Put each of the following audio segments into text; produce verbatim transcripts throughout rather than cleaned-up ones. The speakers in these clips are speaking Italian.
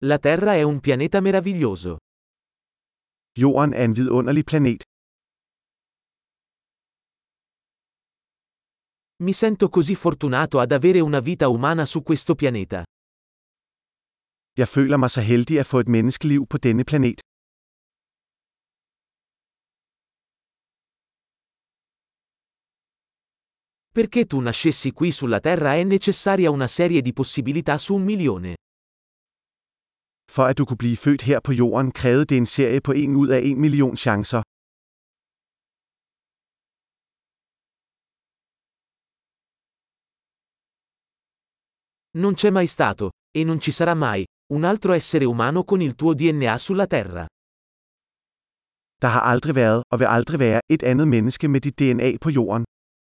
La Terra è un pianeta meraviglioso. Jorden er en vidunderlig planet. Mi sento così fortunato ad avere una vita umana su questo pianeta. Jeg føler mig så heldig at få et menneskeliv på denne planet. Perché tu nascessi qui sulla Terra è necessaria una serie di possibilità su un milione. For at du kunne blive født her på jorden, krævede det en serie på en ud af en million chancer. Non c'è mai stato, e non ci sarà mai, un altro essere umano con il tuo D N A sulla Terra. Der har aldrig været, og vil aldrig være, et andet menneske med dit D N A på jorden.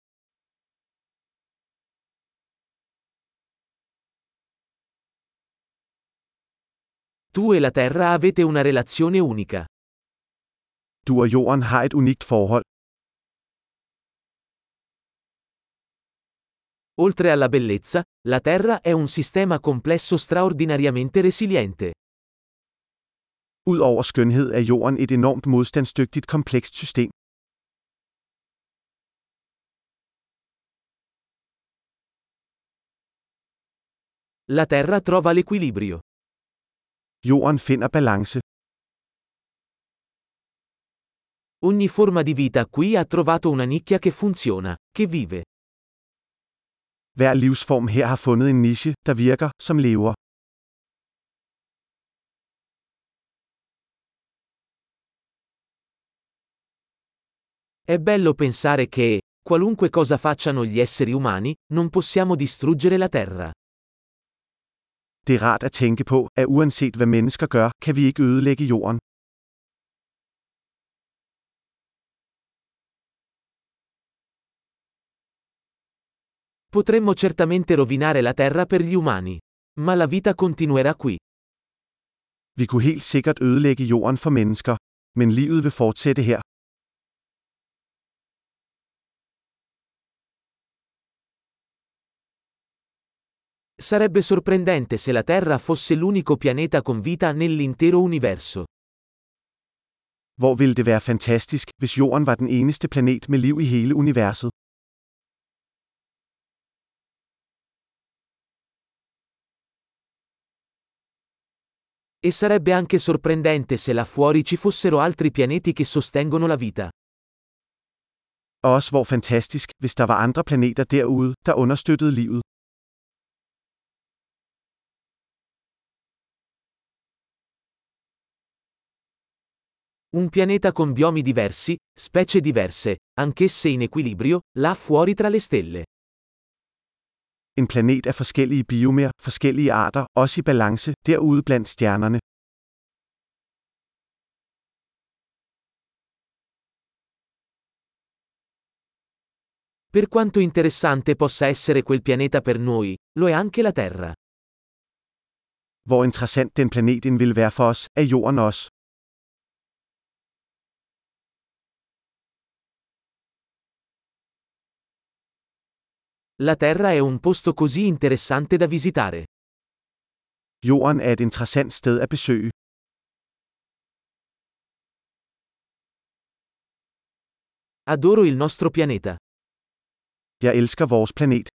Tu e la Terra avete una relazione unica. Du og jorden har et unikt forhold. Oltre alla bellezza, la Terra è un sistema complesso straordinariamente resiliente. Udover skønhed er jorden et enormt modstandsdygtigt komplekst system. La Terra trova l'equilibrio. Jorden finder balance. Ogni forma di vita qui ha trovato una nicchia che funziona, che vive. Hver livsform her har fundet en niche, der virker, som lever. È bello pensare che, qualunque cosa facciano gli esseri umani, non possiamo distruggere la Terra. Det er rart at tænke på, at uanset hvad mennesker gør, kan vi ikke ødelægge jorden. Potremmo certamente rovinare la Terra per gli umani. Ma la vita continuerà qui. Vi kunne helt sikkert ødelægge jorden for mennesker. Men livet vil fortsætte her. Sarebbe sorprendente se la Terra fosse l'unico pianeta con vita nell'intero universo. Hvor ville det være fantastisk, hvis jorden var den eneste planet med liv i hele universet. E sarebbe anche sorprendente se là fuori ci fossero altri pianeti che sostengono la vita. Og også hvor fantastisk, hvis der var andre planeter derude, der understøttede livet. Un pianeta con biomi diversi, specie diverse, anch'esse in equilibrio, là fuori tra le stelle. En planet af forskellige biomer, forskellige arter, også i balance, derude blandt stjernerne. Per quanto interessante possa essere quel pianeta per noi, lo è anche la Terra. Hvor interessant den planet vil være for os, er jorden også. La Terra è un posto così interessante da visitare. Jorden er et interessant sted at besøge. Adoro il nostro pianeta. Jeg elsker vores planet.